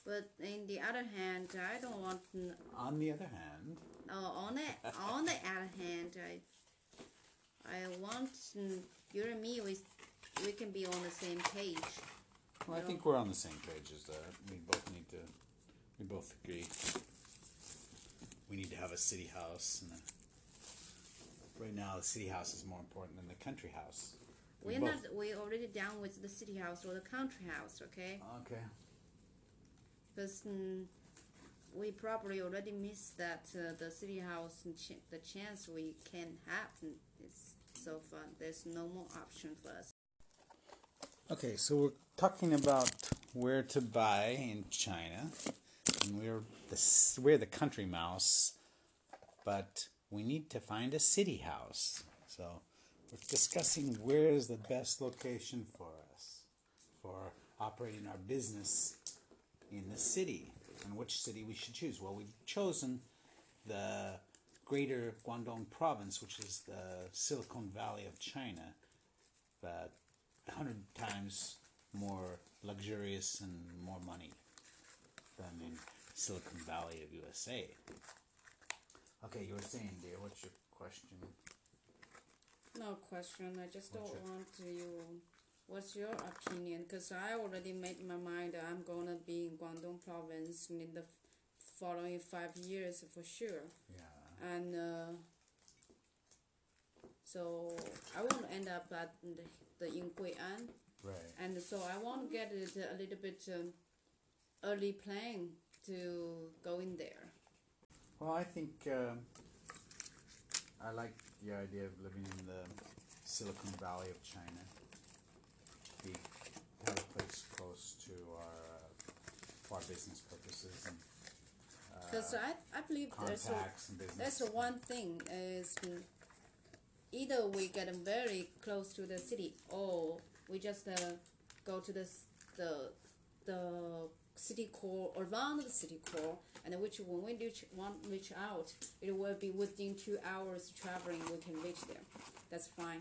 But in the other hand, I don't want. On the other hand, On the other hand, I want you and me. We can be on the same page. well, I think we're on the same page as that. We both agree. We need to have a city house, and right now the city house is more important than the country house. We're already done with the city house or the country house, okay? Okay. Because we probably already missed that the city house and the chance we can have is so far. There's no more option for us. Okay, so we're talking about where to buy in China, and we're the country mouse, but we need to find a city house. So we're discussing where is the best location for us for operating our business in the city, and which city we should choose. Well, we've chosen the Greater Guangdong Province, which is the Silicon Valley of China, but 100 times more luxurious and more money than in Silicon Valley of USA. Okay, you were saying, dear, what's your question? No question. I just don't want you. What's your opinion? Because I already made my mind. I'm gonna be in Guangdong Province in the following 5 years for sure. Yeah. And so I want to end up at in Gui'an. Right. And so I want to get it a little bit early plan to go in there. Well, I think I like the idea of living in the Silicon Valley of China. We have a place close to our business purposes and Because I believe there's one thing is either we get very close to the city or we just go to the city core, around the city core, and which when we reach out, it will be within 2 hours traveling. We can reach there. That's fine.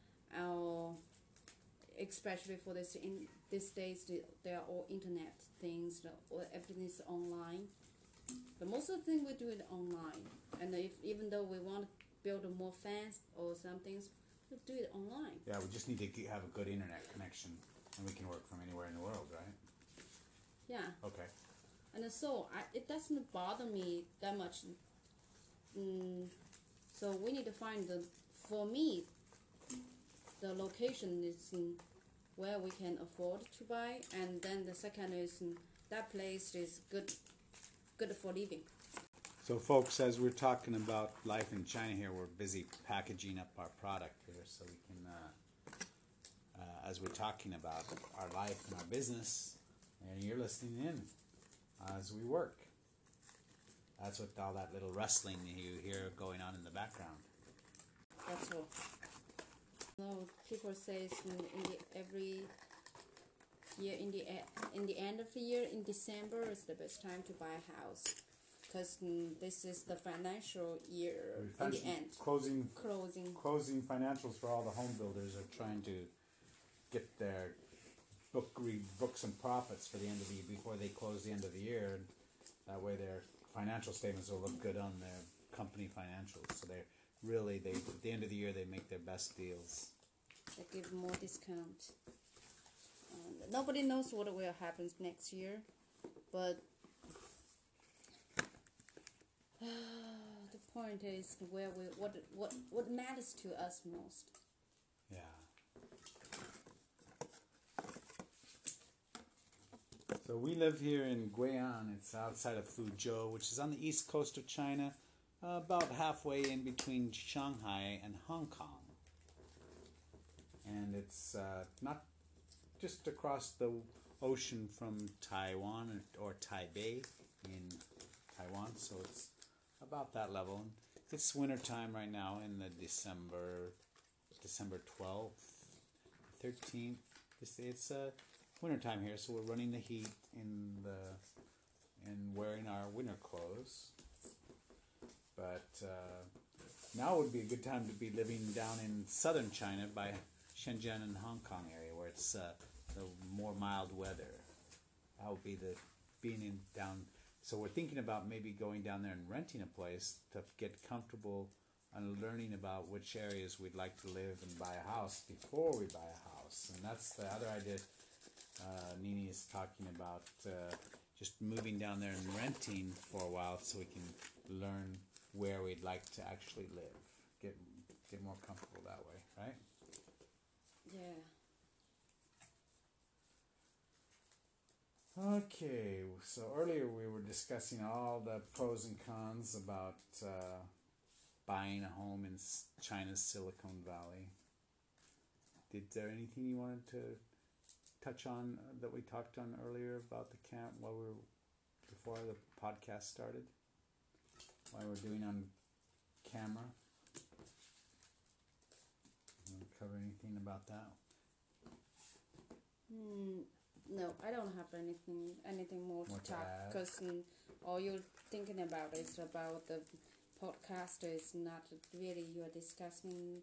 Especially for this in these days, they are all internet things. Everything is online. But most of the things we do it online. And even though we want to build more fans or some things, we do it online. Yeah, we just need to have a good internet connection, and we can work from anywhere in the world, right? Yeah. Okay. And so it doesn't bother me that much. So we need to find for me, the location is where we can afford to buy, and then the second is that place is good for living. So, folks, as we're talking about life in China here, we're busy packaging up our product here so we can, as we're talking about our life and our business, and you're listening in as we work. That's what all that little rustling you hear going on in the background. That's all. No, people say every year in the end of the year in December is the best time to buy a house, because this is the financial year in the end. Closing Closing financials for all the home builders are trying to get their books and profits for the end of the year before they close the end of the year. And that way their financial statements will look good on their company financials. So at the end of the year they make their best deals. They give more discount. Nobody knows what will happen next year, but the point is what matters to us most. Yeah. So we live here in Gui'an. It's outside of Fuzhou, which is on the east coast of China, about halfway in between Shanghai and Hong Kong. And it's not just across the ocean from Taiwan or Taipei in Taiwan, so it's about that level. It's winter time right now in the December 12th, 13th. It's winter time here, so we're running the heat and wearing our winter clothes. But now would be a good time to be living down in southern China by Shenzhen and Hong Kong area, where it's the more mild weather. That would be the being in down. So we're thinking about maybe going down there and renting a place to get comfortable and learning about which areas we'd like to live and buy a house before we buy a house. And that's the other idea Nini is talking about, just moving down there and renting for a while so we can learn where we'd like to actually live. Get more comfortable that way, right? Yeah. Okay, so earlier we were discussing all the pros and cons about buying a home in China's Silicon Valley. Did there anything you wanted to touch on that we talked on earlier about the camp before the podcast started? While we're doing on camera? You want to cover anything about that? No, I don't have anything more to talk, because all you're thinking about is about the podcast. Is not really you are discussing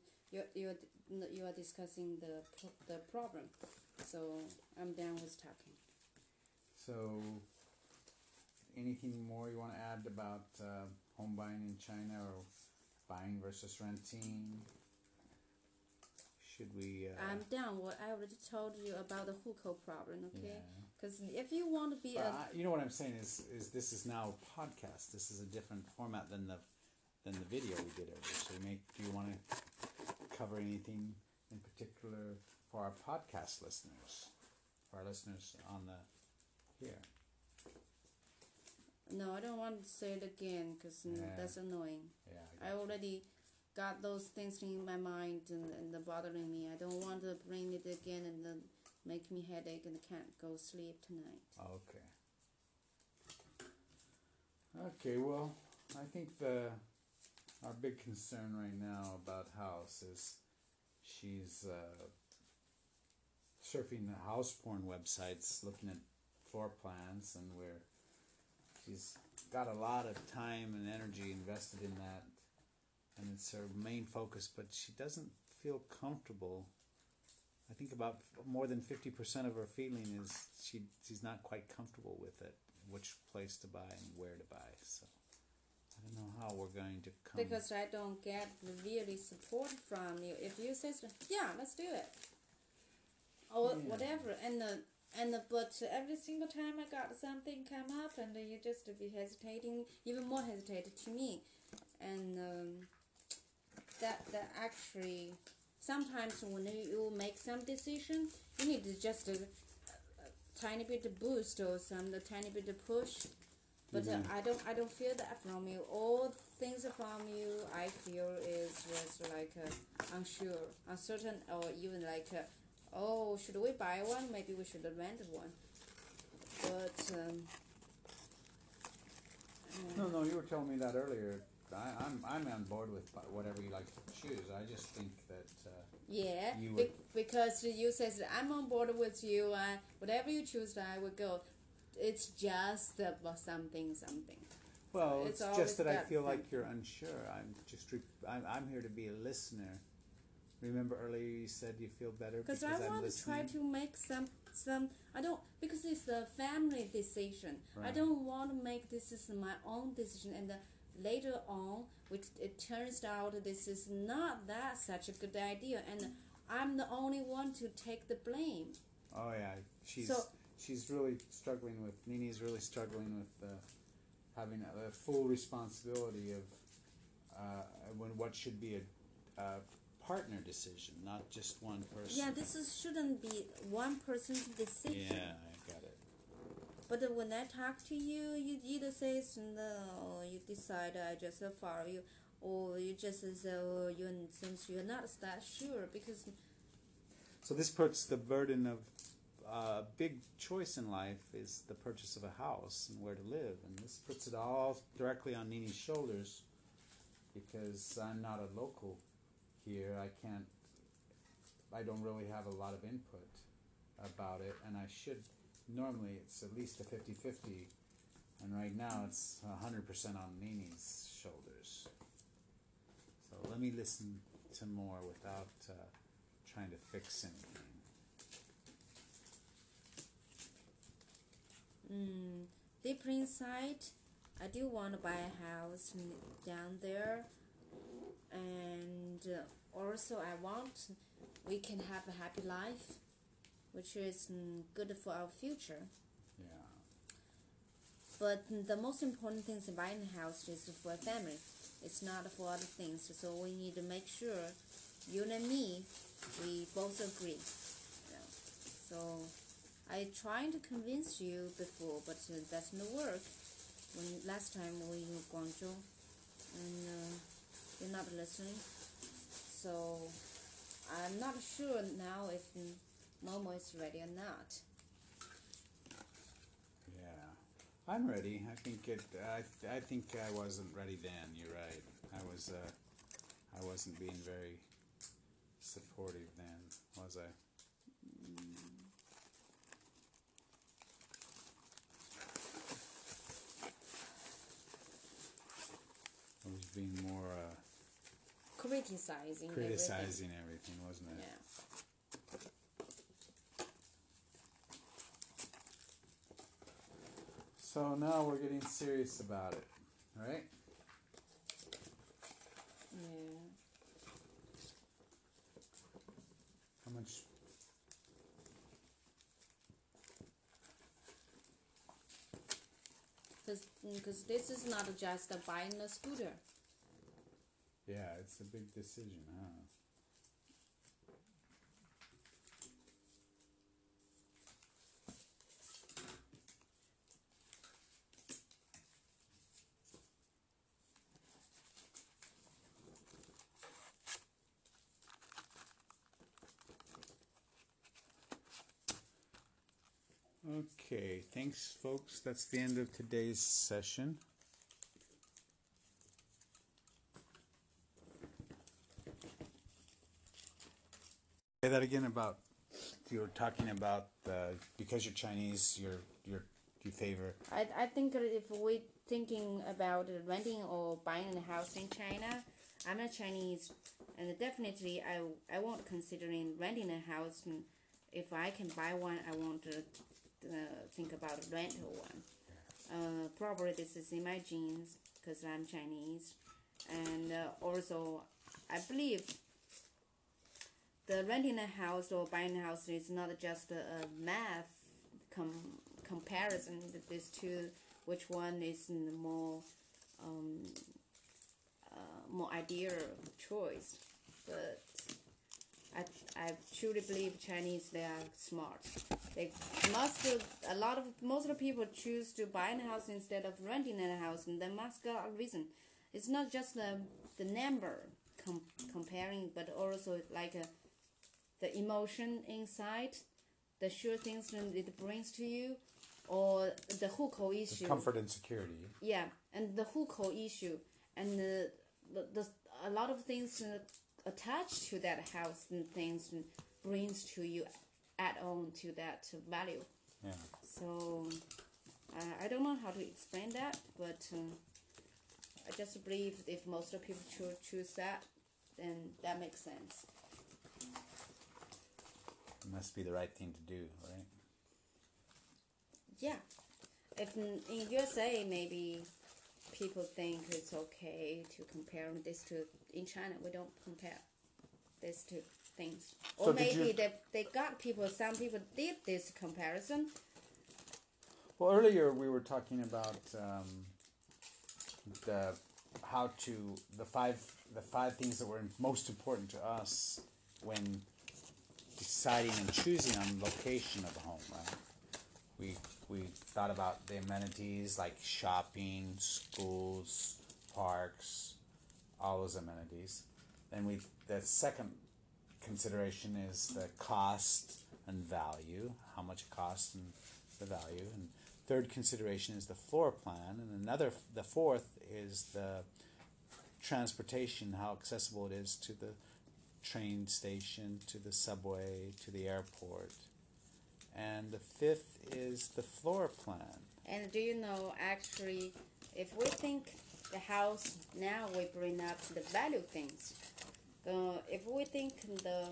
the problem. So I'm done with talking. So, anything more you want to add about home buying in China, or buying versus renting? Should we... I'm done. What I already told you about the hukou problem, okay? Because if you want to be you know what I'm saying is this is now a podcast. This is a different format than the video we did earlier. So do you want to cover anything in particular for our podcast listeners? For our listeners on here? No, I don't want to say it again, because that's annoying. Yeah, I already got those things in my mind and they're bothering me. I don't want to bring it again and then make me headache and can't go sleep tonight. Okay. Okay, well, I think our big concern right now about House is she's surfing the house porn websites, looking at floor plans, and she's got a lot of time and energy invested in that. And it's her main focus, but she doesn't feel comfortable. I think about more than 50% of her feeling is she's not quite comfortable with it, which place to buy and where to buy. So I don't know how we're going to come. Because I don't get really support from you. If you say, yeah, let's do it, or whatever, but every single time I got something come up, and you just be hesitating, even more hesitated to me, and that actually sometimes when you make some decision, you need to just a tiny bit of boost or a tiny bit of push. But I don't feel that from you. All things from you I feel is just like unsure, uncertain, or even like oh, should we buy one? Maybe we should rent one. But no, you were telling me that earlier. I'm on board with whatever you like to choose. I just think that because you says I'm on board with you, and whatever you choose, I will go. It's just something. Well, it's just that I feel like you're unsure. I'm here to be a listener. Remember earlier you said you feel better because I want to try to make some. I don't, because it's a family decision. Right. I don't want to make this is my own decision, and later on, which it turns out this is not that such a good idea, and I'm the only one to take the blame. Oh yeah, she's really struggling with. Nini's really struggling with having a full responsibility of what should be a partner decision, not just one person. Yeah, shouldn't be one person's decision. Yeah, I got it. But when I talk to you, you either say no, you decide I just follow you, or you just say since you're not that sure, because. So this puts the burden of a big choice in life is the purchase of a house and where to live, and this puts it all directly on Nini's shoulders, because I'm not a local here. I don't really have a lot of input about it, and I should. Normally it's at least a 50-50, and right now it's 100% on Nini's shoulders. So let me listen to more without trying to fix anything. deep inside, I do want to buy a house down there, and also I want we can have a happy life, which is good for our future. Yeah. But the most important thing in buying a house is for a family. It's not for other things. So we need to make sure you and me, we both agree. So I tried to convince you before, but that doesn't work. When last time we were Guangzhou, and you're not listening. So I'm not sure now if Momo is ready or not. Yeah, I'm ready. I think it. I think I wasn't ready then. You're right. I wasn't being very supportive then, was I? I was being more Criticizing everything, wasn't it? Yeah. So now we're getting serious about it, right? Yeah. How much? Because this is not just buying a scooter. Yeah, it's a big decision, huh? Okay, thanks, folks. That's the end of today's session. Say that again about you were talking about because you're Chinese, you favor. I think if we thinking about renting or buying a house in China, I'm a Chinese, and definitely I won't considering renting a house. And if I can buy one, I won't think about a rental one. Probably this is in my genes because I'm Chinese, and also I believe the renting a house or buying a house is not just a math comparison. These two, which one is more more ideal choice, but I truly believe Chinese, they are smart. They most of the people choose to buy a house instead of renting a house, and they must got a reason. It's not just the number comparing, but also like the emotion inside, the sure things that it brings to you, or the hukou issue. The comfort and security. Yeah, and the hukou issue, and the a lot of things attached to that house and things brings to you, add on to that value. Yeah. So I don't know how to explain that, but I just believe if most of people choose that, then that makes sense. It must be the right thing to do, right? Yeah. If in USA, maybe people think it's okay to compare this to, in China, we don't compare these two things. Or So maybe they got people, some people did this comparison. Well, earlier we were talking about the five things that were most important to us when deciding and choosing on location of the home, right? We thought about the amenities like shopping, schools, parks, all those amenities. Then the second consideration is the cost and value, how much it costs and the value. And third consideration is the floor plan, and the fourth is the transportation, how accessible it is to the train station, to the subway, to the airport. And the fifth is the floor plan. And do you know, actually, if we think the house, now we bring up the value things. If we think the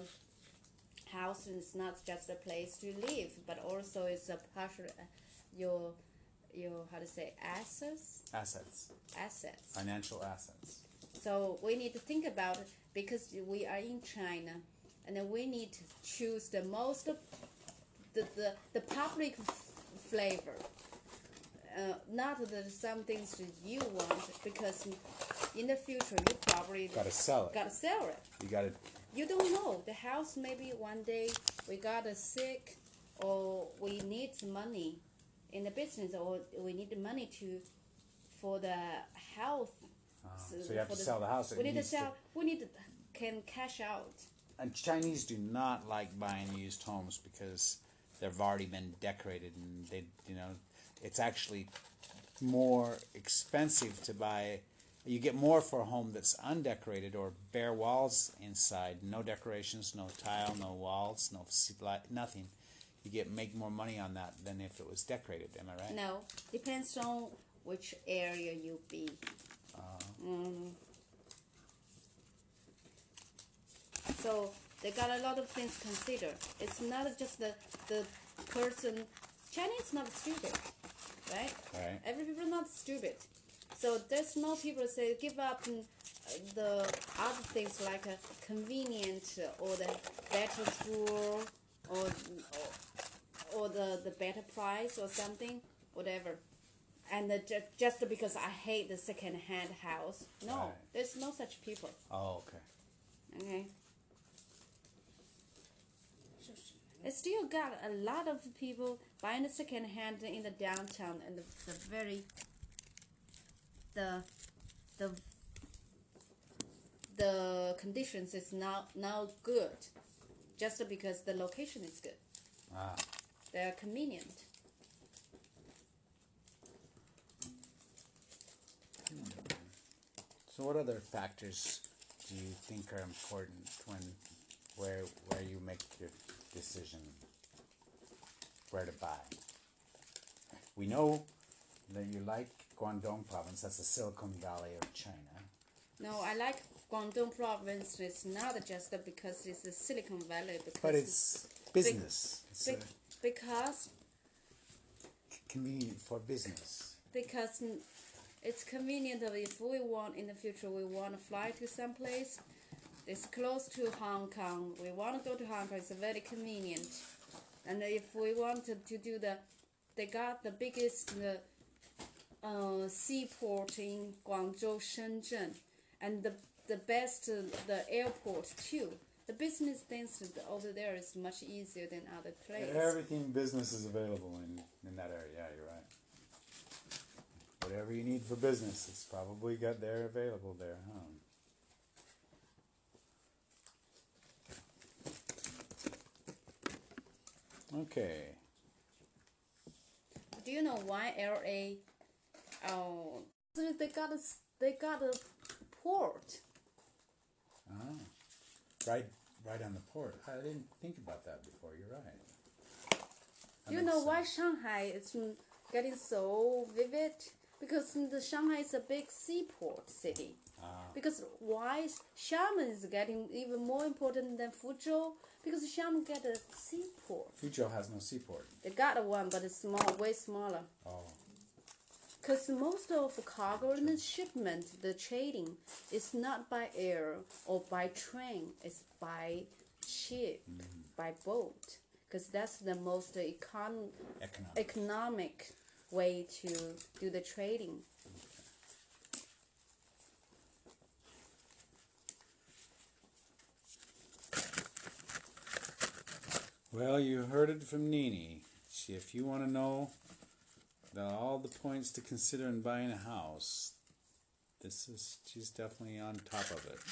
house is not just a place to live, but also it's a partial, your how to say assets. Financial assets. So we need to think about it because we are in China, and then we need to choose the most the public flavor. Not that some things that you want, because in the future you probably Gotta sell it. You gotta. You don't know. The house maybe one day we got sick, or we need money in the business, or we need the money for the health. So you have to sell the house. We need to sell. We need to can cash out. And Chinese do not like buying used homes because they've already been decorated, and it's actually more expensive to buy. You get more for a home that's undecorated or bare walls inside, no decorations, no tile, no walls, no nothing. You make more money on that than if it was decorated. Am I right? No, depends on which area you be. So they got a lot of things to consider. It's not just the person. Chinese not stupid, right? Right. Every people not stupid. So there's no people say give up the other things like a convenient or the better school or the better price or something, whatever. And just because I hate the second-hand house. No, right. There's no such people. Oh, okay. Okay. It still got a lot of people buying the second-hand in the downtown, and the conditions is now good, just because the location is good. They're convenient. So what other factors do you think are important where you make your decision where to buy? We know that you like Guangdong province. That's the Silicon Valley of China. No, I like Guangdong province. It's not just because it's the Silicon Valley. But it's business. Because convenient for business. Because it's convenient if we want in the future, we want to fly to some place. It's close to Hong Kong. We want to go to Hong Kong. It's very convenient. And if we want to do they got the biggest seaport in Guangzhou, Shenzhen, and the best the airport too. The business things over there is much easier than other places. Everything business is available in that area. Yeah, you're right. Whatever you need for business, it's probably got there available there, huh? Okay. Do you know why LA? Oh, they got a port. Right on the port. I didn't think about that before. You're right. Do you know why Shanghai is getting so vivid? Because the Shanghai is a big seaport city. Because why Xiamen is getting even more important than Fuzhou? Because Xiamen get a seaport. Fuzhou has no seaport. They got one, but it's way smaller. Oh. Because most of cargo and the shipment, the trading, is not by air or by train. It's by ship, by boat. Because that's the most economic way to do the trading. Well, you heard it from Nini. If you want to know all the points to consider in buying a house, she's definitely on top of it.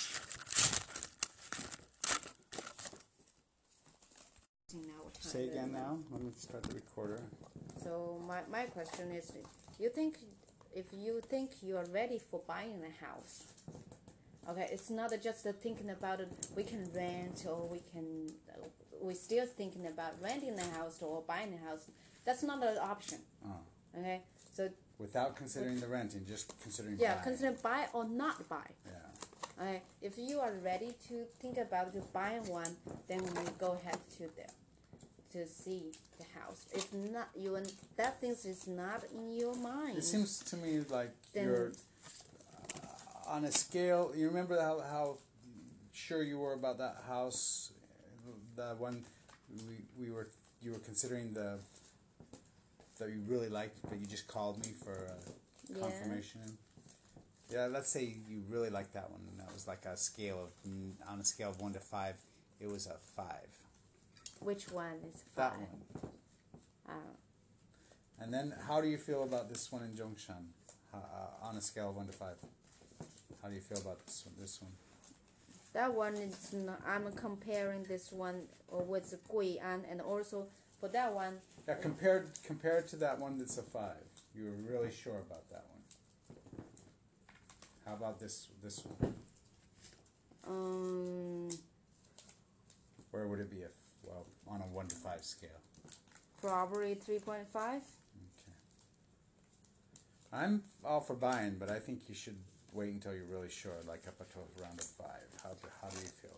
Say again now. Let me start the recorder. So my question is, if you think you are ready for buying a house, okay, it's not just thinking about it. We can rent, or we're still thinking about renting a house or buying a house. That's not an option. Okay, so without considering the renting, just considering buying. Consider buy or not buy. Yeah. Okay, if you are ready to think about buying one, then we go ahead to there. to see the house. If not, that things is not in your mind. It seems to me like then, you're on a scale. You remember how sure you were about that house, the one you were considering that you really liked, but you just called me for confirmation. Yeah, let's say you really liked that one, and that was like on a scale of 1 to 5, it was a 5. Which one is 5? That one. And then, how do you feel about this one in Zhongshan? On a scale of 1 to 5, how do you feel about this one? That one is not, I'm comparing this one with Gui'an, and also for that one. Yeah, compared to that one that's a 5, you were really sure about that one. How about this one? Where would it be on a 1 to 5 scale? Probably 3.5. Okay. I'm all for buying, but I think you should wait until you're really sure, like up until around a 5. How do you feel?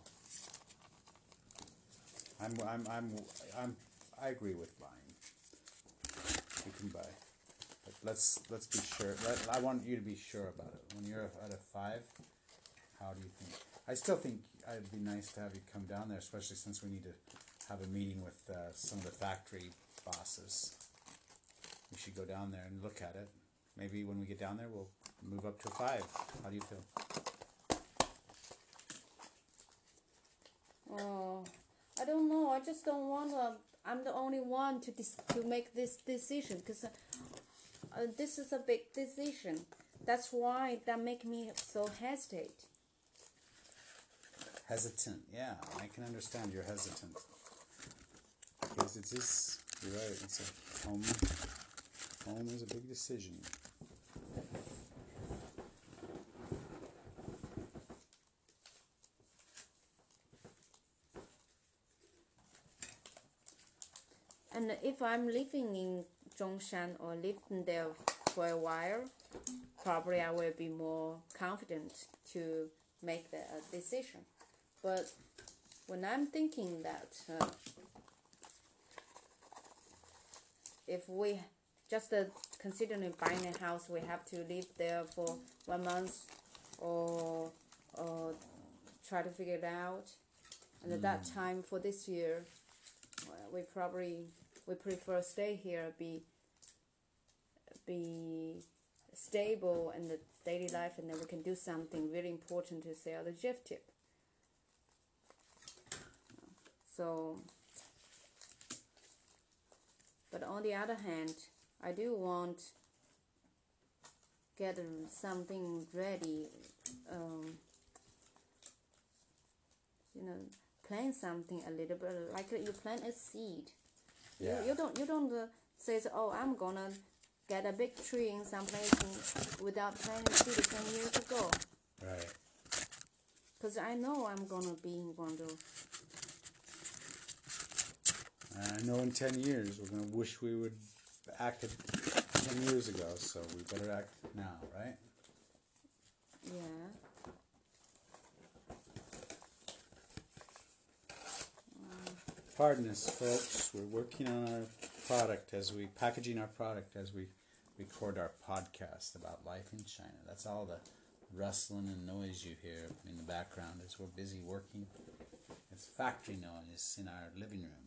I agree with buying. You can buy, but let's be sure. I want you to be sure about it. When you're at a 5, how do you think? I still think it'd be nice to have you come down there, especially since we need to have a meeting with some of the factory bosses. We should go down there and look at it. Maybe when we get down there, we'll move up to a 5. How do you feel? Oh, I don't know. I just don't want to. I'm the only one to make this decision, because this is a big decision. That's why that make me so hesitate. Hesitant, yeah. I can understand you're hesitant. Because it is, you're right, it's a home is a big decision. And if I'm living in Zhongshan or living there for a while, probably I will be more confident to make the decision. But when I'm thinking that if we just considering buying a house, we have to live there for 1 month or try to figure it out. And at that time for this year, we prefer stay here, be stable in the daily life, and then we can do something really important to sell the gift tip. So, but on the other hand, I do want get something ready. Plant something a little bit like you plant a seed. Yeah. You don't say, oh, I'm gonna get a big tree in some place without planting seed 10 years ago. Right. Because I know I'm gonna be in Guangzhou. I know in 10 years we're going to wish we would acted 10 years ago, so we better act now, right? Yeah. Pardon us, folks. We're working on our product packaging our product as we record our podcast about life in China. That's all the rustling and noise you hear in the background as we're busy working. It's factory noise in our living room.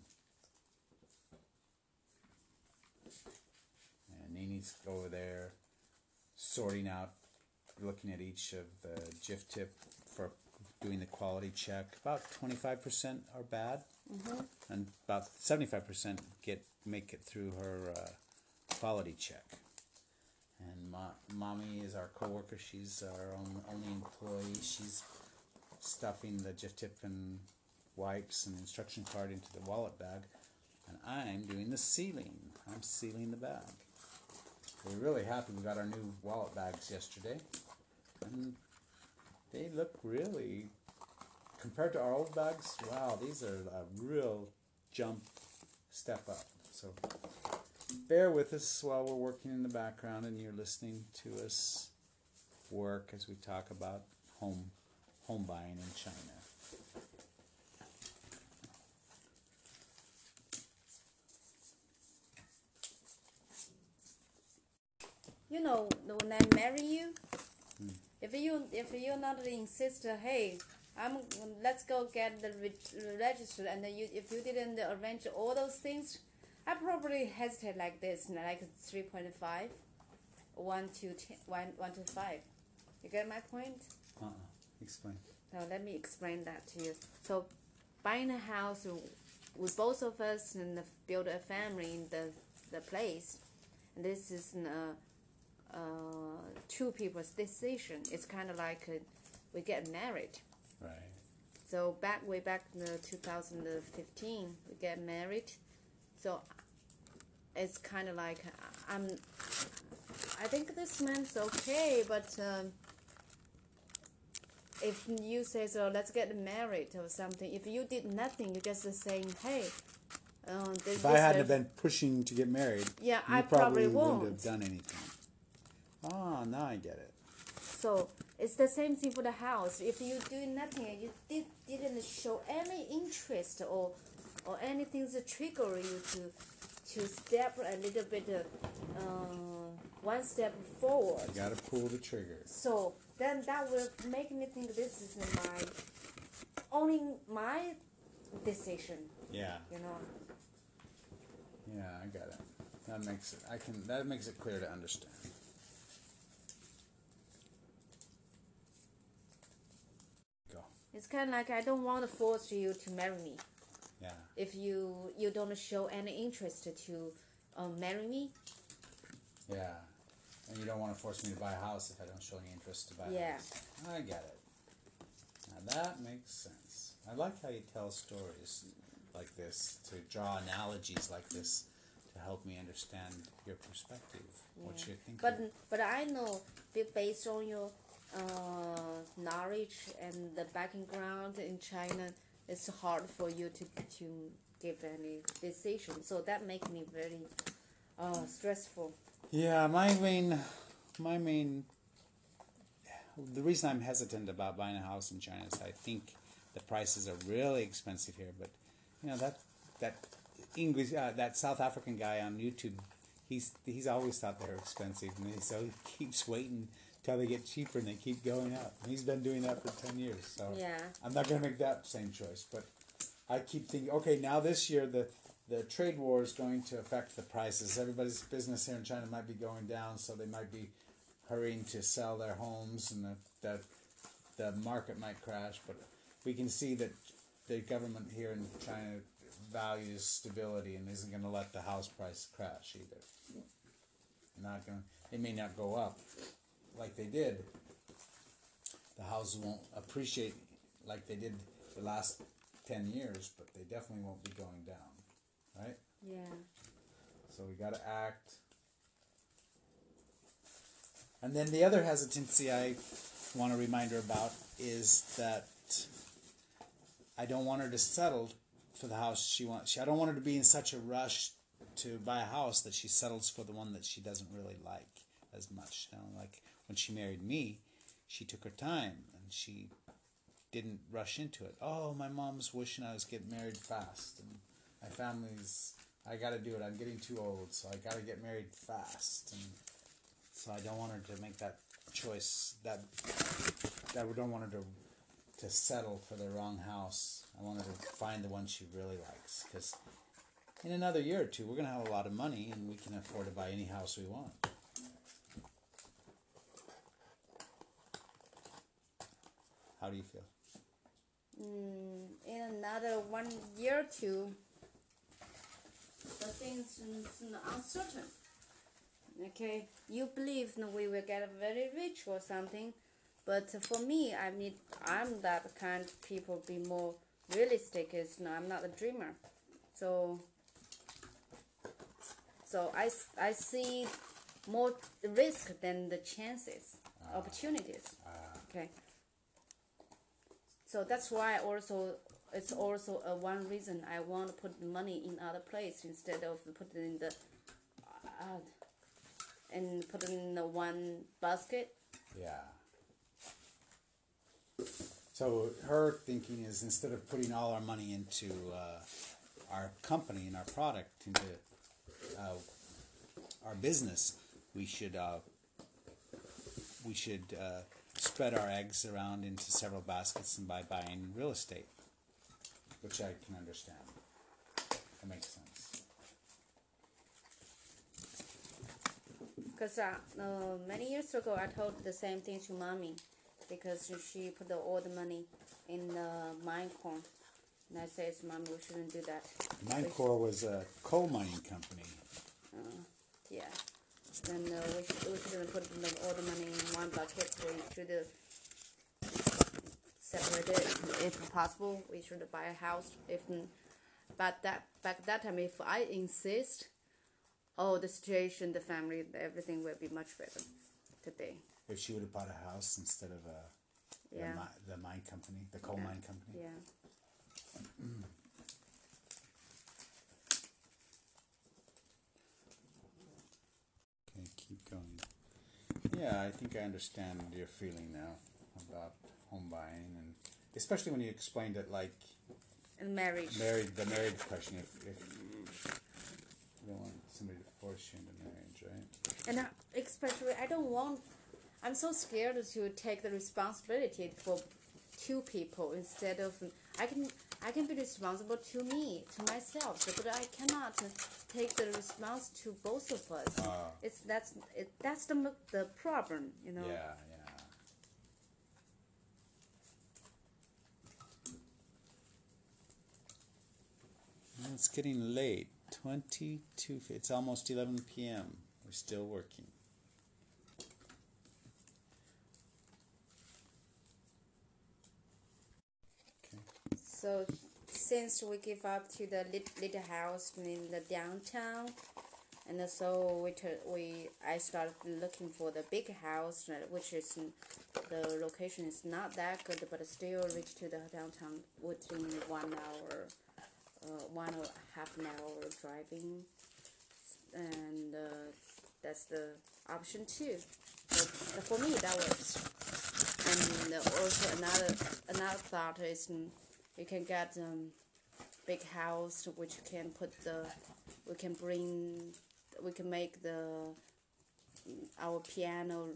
And Nini's over there sorting out, looking at each of the GIF tip for doing the quality check. About 25% are bad, and about 75% make it through her quality check. And Mommy is our coworker. She's our only employee. She's stuffing the GIF tip and wipes and instruction card into the wallet bag, and I'm doing the sealing. I'm sealing the bag. We're really happy we got our new wallet bags yesterday, and they look really, compared to our old bags, wow, these are a real step up. So bear with us while we're working in the background and you're listening to us work as we talk about home buying in China. you know, when I marry you, if you're not insist, hey, let's go get the register, and then if you didn't arrange all those things, I probably hesitate like this, like 3.5, 1 to 10, 1 to 5. You get my point? Explain. Now let me explain that to you. So, buying a house with both of us and build a family in the place, this is two people's decision. It's kind of like we get married. Right. So way back in 2015, we get married. So it's kind of like I think this man's okay, but if you say so, let's get married or something. If you did nothing, you're just saying, hey. If I hadn't have been pushing to get married, yeah, you I probably wouldn't won't have done anything. Oh, now I get it. So it's the same thing for the house. If you do nothing and you didn't show any interest or anything that trigger you to step a little bit one step forward. You gotta pull the trigger. So then that will make me think this is only my decision. Yeah. You know. Yeah, I got it. That makes it clear to understand. Go. It's kind of like I don't want to force you to marry me. Yeah. If you don't show any interest to marry me. Yeah. And you don't want to force me to buy a house if I don't show any interest to buy a house. I get it. Now that makes sense. I like how you tell stories like this, to draw analogies like this to help me understand your perspective, what you're thinking. But I know, based on your knowledge and the background in China, it's hard for you to give any decision. So that makes me very stressful. Yeah, the reason I'm hesitant about buying a house in China is I think the prices are really expensive here. But you know that English that South African guy on YouTube, he's always thought they're expensive, and so he keeps waiting till they get cheaper, and they keep going up. And he's been doing that for 10 years. So yeah. I'm not going to make that same choice. But I keep thinking, okay, now this year the trade war is going to affect the prices. Everybody's business here in China might be going down, so they might be hurrying to sell their homes, and the market might crash. But we can see that the government here in China values stability and isn't going to let the house price crash either. They may not go up like they did. The houses won't appreciate like they did the last 10 years, but they definitely won't be going down, right? Yeah. So we got to act. And then the other hesitancy I want to remind her about is that I don't want her to settle for the house she wants. I don't want her to be in such a rush to buy a house that she settles for the one that she doesn't really like as much. You know, like when she married me, she took her time and she didn't rush into it. Oh, my mom's wishing I was getting married fast, and my family's, I got to do it. I'm getting too old, so I got to get married fast. And so I don't want her to make that choice. That I don't want her to settle for the wrong house. I want her to find the one she really likes, because in another year or two, we're going to have a lot of money, and we can afford to buy any house we want. How do you feel? In another 1 year or two, the things are uncertain. Okay, you believe we will get very rich or something, but for me, I'm that kind of people be more realistic. I'm not a dreamer, so I see more risk than the chances, opportunities. Okay. So that's why it's also one reason I want to put money in other place instead of putting in the one basket. Yeah. So her thinking is, instead of putting all our money into our company and our product, into our business, we should we should spread our eggs around into several baskets and by buying real estate, which I can understand. That makes sense. Because many years ago, I told the same thing to mommy, because she put all the money in the mine corn. And I said, Mom, we shouldn't do that. Minecore was a coal mining company. Yeah. Then we shouldn't put all the money in one bucket. We should separate it if possible. We should buy a house. But back that time, if I insist, the situation, the family, everything will be much better today. If she would have bought a house instead of the mine company, the coal mine company. Yeah. Okay, keep going. Yeah, I think I understand your feeling now about home buying, and especially when you explained it like And marriage. the marriage question. If you don't want somebody to force you into marriage, right? And especially, I'm so scared to take the responsibility for two people instead of I can be responsible to me, to myself, but I cannot take the response to both of us. That's the problem, you know. Yeah. Well, it's getting late. 22. It's almost 11 p.m. We're still working. So since we give up to the little house in the downtown, and so I started looking for the big house, which is the location is not that good, but still reach to the downtown within 1 hour, 1.5 hour driving, and that's the option too. So for me, that works. And also another thought is. You can get big house which can we can make our piano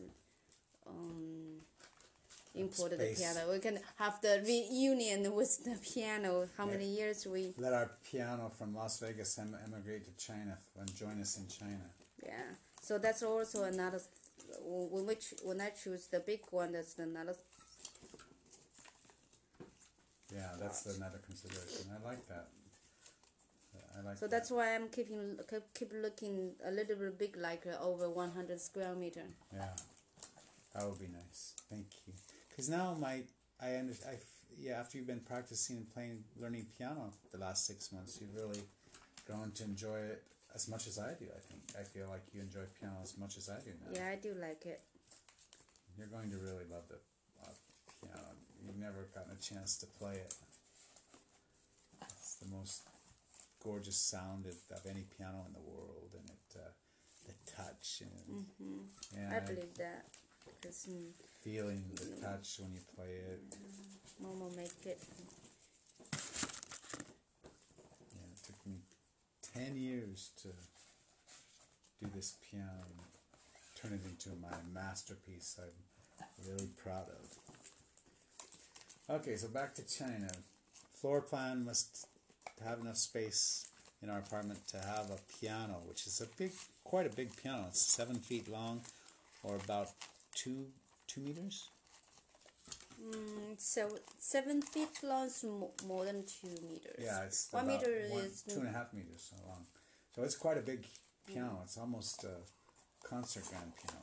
import the piano. We can have the reunion with the piano. How many years we let our piano from Las Vegas emigrate to China and join us in China. Yeah. So that's also another. When I choose the big one, that's another. Yeah, that's another consideration. I like that. So that's why I'm keep looking a little bit big, like over 100 square meter. Yeah, that would be nice. Thank you. Because now after you've been practicing and learning piano the last 6 months, you've really grown to enjoy it as much as I do. I feel like you enjoy piano as much as I do now. Yeah, I do like it. You're going to really love the piano. You've never gotten a chance to play it. It's the most gorgeous sound of any piano in the world, and the touch and I believe that because feeling the touch when you play it. Momo make it. Yeah, it took me 10 years to do this piano and turn it into my masterpiece. I'm really proud of. Okay, so back to China. Floor plan must have enough space in our apartment to have a piano, which is quite a big piano. It's 7 feet long, or about 2 meters. So 7 feet long is more than 2 meters. Yeah, it's 1 about meter is 2.5 meters long. So it's quite a big piano. It's almost a concert grand piano.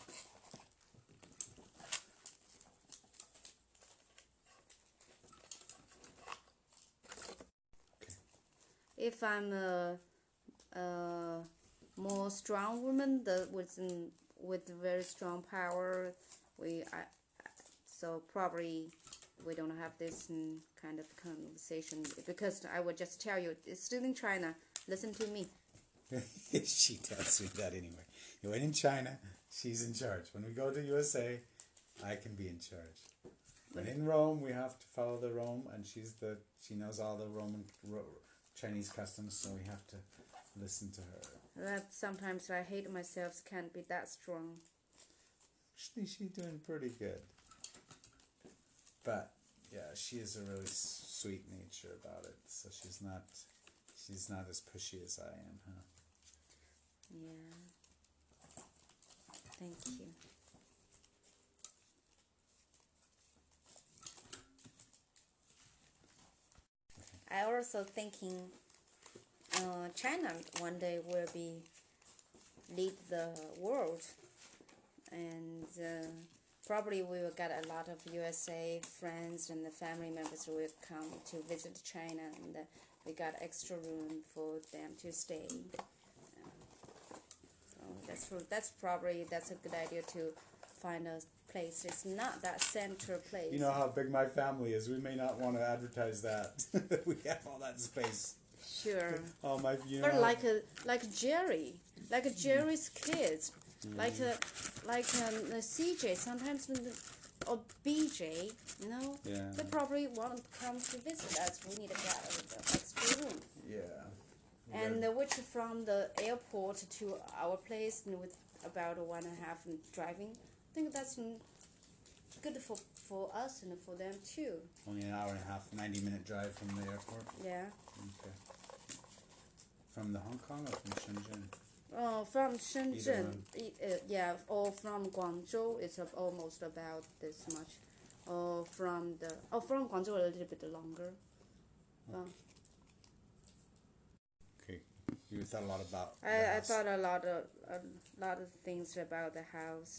If I'm a more strong woman, with very strong power, so probably we don't have this kind of conversation, because I would just tell you, it's still in China. Listen to me. She tells me that anyway. You went in China, she's in charge. When we go to USA, I can be in charge. When in Rome, we have to follow the Rome, and she knows all the Chinese customs, so we have to listen to her. That sometimes I hate myself, can't be that strong. She's doing pretty good. But yeah, she has a really sweet nature about it. So she's not as pushy as I am, huh? Yeah. Thank you. I also thinking China one day will be lead the world, and probably we will get a lot of USA friends and the family members will come to visit China, and we got extra room for them to stay. So that's a good idea to find a place. It's not that central place. You know how big my family is. We may not want to advertise that. We have all that space. Sure. Oh my! You know. Or like Jerry's kids, the CJ sometimes or BJ, you know. Yeah. They probably want to come to visit us. We need to get the extra room. Yeah. And which from the airport to our place with about 1.5 hours driving, I think that's good for us and for them too. Only an hour and a half, 90-minute drive from the airport. Yeah. Okay. From the Hong Kong or from Shenzhen? Oh, from Shenzhen, yeah, or from Guangzhou, it's almost about this much. From Guangzhou a little bit longer. Okay, you thought a lot about. I thought a lot of things about the house.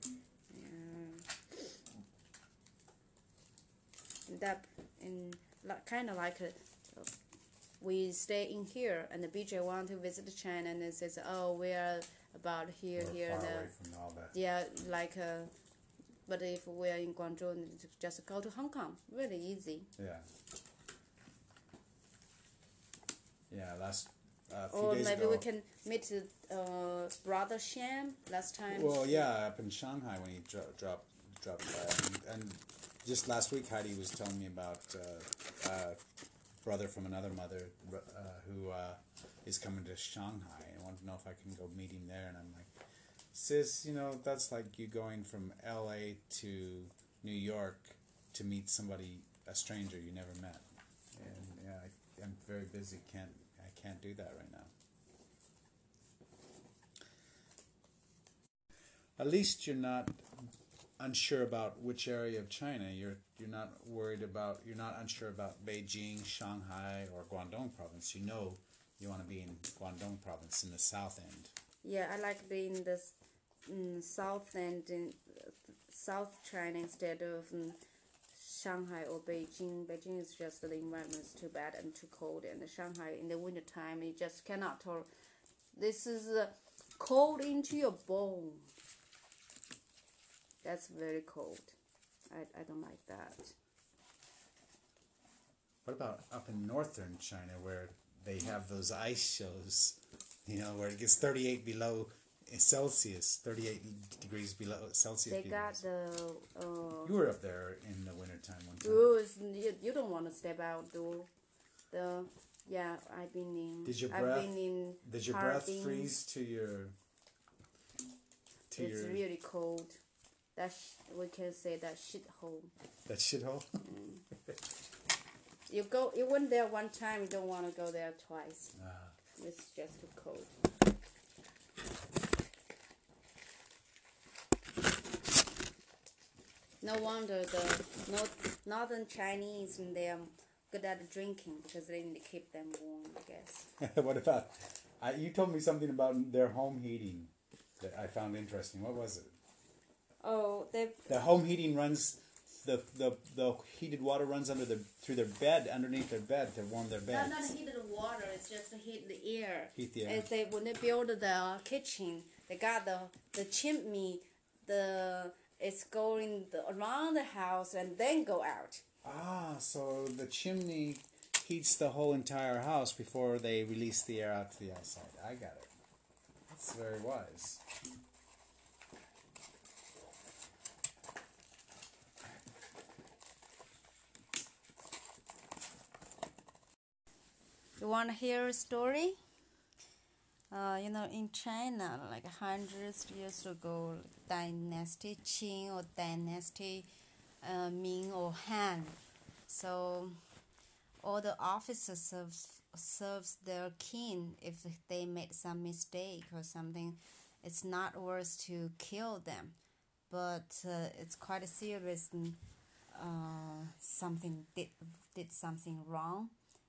That kind of like we stay in here, and the BJ want to visit China, and it says, "Oh, we are about here." Far away from all that. Yeah, but if we are in Guangzhou, just go to Hong Kong. Really easy. Yeah. Yeah, last few Or days maybe ago. we can meet Brother Sham last time. Well, yeah, up in Shanghai when he dropped by, and just last week Heidi was telling me about brother from another mother who is coming to Shanghai. I want to know if I can go meet him there, and I'm like, sis, that's like you going from L.A. to New York to meet somebody, a stranger you never met. And yeah, I'm very busy. I can't do that right now. At least you're not unsure about which area of China. You're not unsure about Beijing, Shanghai, or Guangdong province. You want to be in Guangdong province in the south end. Yeah, I like being in the south end in South China instead of Shanghai or Beijing. Beijing is just the environment is too bad and too cold, and Shanghai in the winter time you just cannot tolerate. This is cold into your bone. That's very cold. I don't like that. What about up in northern China where they have those ice shows, where it gets 38 below Celsius, 38 degrees below Celsius. They got the... you were up there in the wintertime one time. You don't want to step out, though. I've been in... Did your breath freeze to your... It's really cold. We can say that shithole. That shithole? You went there one time, you don't want to go there twice. It's just too cold. No wonder the northern Chinese, they're good at drinking because they need to keep them warm, I guess. What about... you told me something about their home heating that I found interesting. What was it? Oh, the home heating runs... The heated water runs through their bed, underneath their bed to warm their beds. Not heated water, it's just heat the air. Heat the air. When they build the kitchen, they got the chimney, it's going around the house and then go out. So the chimney heats the whole entire house before they release the air out to the outside. I got it. That's very wise. You want to hear a story? In China, like hundreds years ago, dynasty Qing or dynasty Ming or Han. So all the officers serves their king if they made some mistake or something. It's not worth to kill them, but it's quite serious. And, something did something wrong.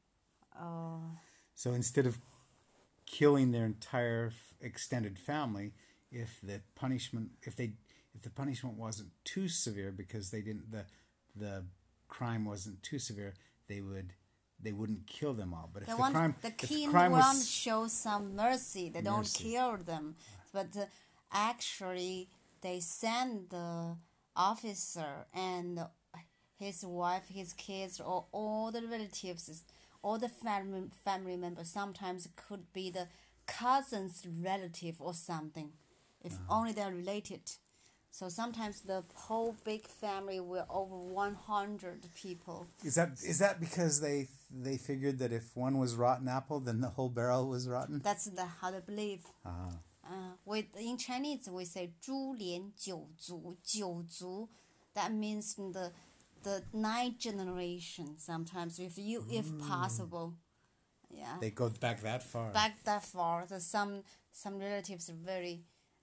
So instead of killing their entire extended family, if the punishment wasn't too severe because the crime wasn't too severe, they wouldn't kill them all. But if The king want to show some mercy. They don't kill them, but actually they send the officer and his wife, his kids, or all the relatives, all the family members. Sometimes it could be the cousin's relative or something, if only they're related. So sometimes the whole big family were over 100 people. Is that because they figured that if one was rotten apple, then the whole barrel was rotten? That's how they believe. In Chinese we say 株连九族, 九族. That means the 9th generation. Sometimes if possible, yeah. They go back that far. So some relatives are very.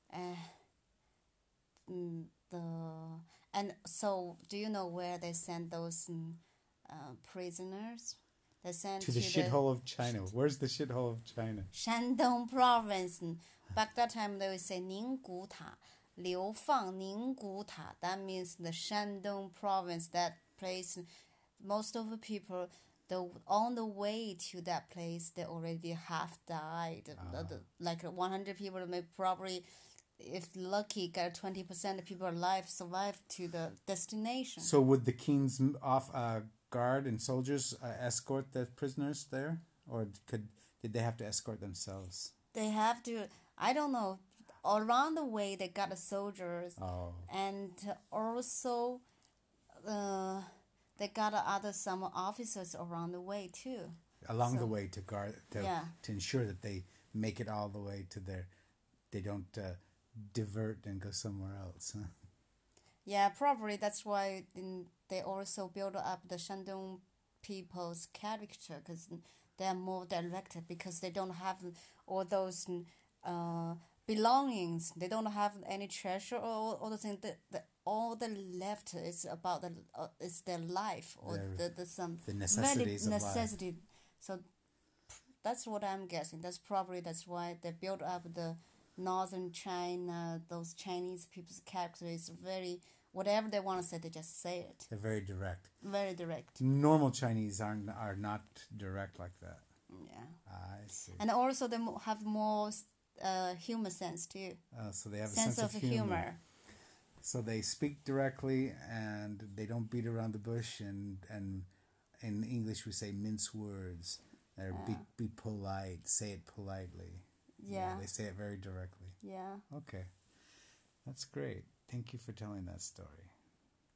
And so, do you know where they send those prisoners? They send to the shithole of China. Where's the shithole of China? Shandong province. Back that time they would say Ninggu Ta, Liu Fang Ninggu Ta. That means the Shandong province. That place, most of the people, on the way to that place, they already half died. Like 100 people, may probably, if lucky, got 20% of people alive survive to the destination. So would the king's guard and soldiers escort the prisoners there, or did they have to escort themselves? They have to. I don't know. Around the way, they got the soldiers, and also they got some officers around the way too. Along the way to guard to ensure that they make it all the way to they don't divert and go somewhere else. Huh? Yeah, probably that's why they also build up the Shandong people's character, because they are more direct, because they don't have all those belongings. They don't have any treasure or all the things. All the left is about is their life or the necessities of life. So that's what I'm guessing. That's why they built up the northern China. Those Chinese people's character is very, whatever they want to say, they just say it. They're very direct. Very direct. Normal Chinese are not direct like that. Yeah. I see. And also they have more humor sense too. So they have a sense of humor. So they speak directly and they don't beat around the bush, and in English we say mince words. Be polite, say it politely. Yeah. They say it very directly. Yeah. Okay. That's great. Thank you for telling that story.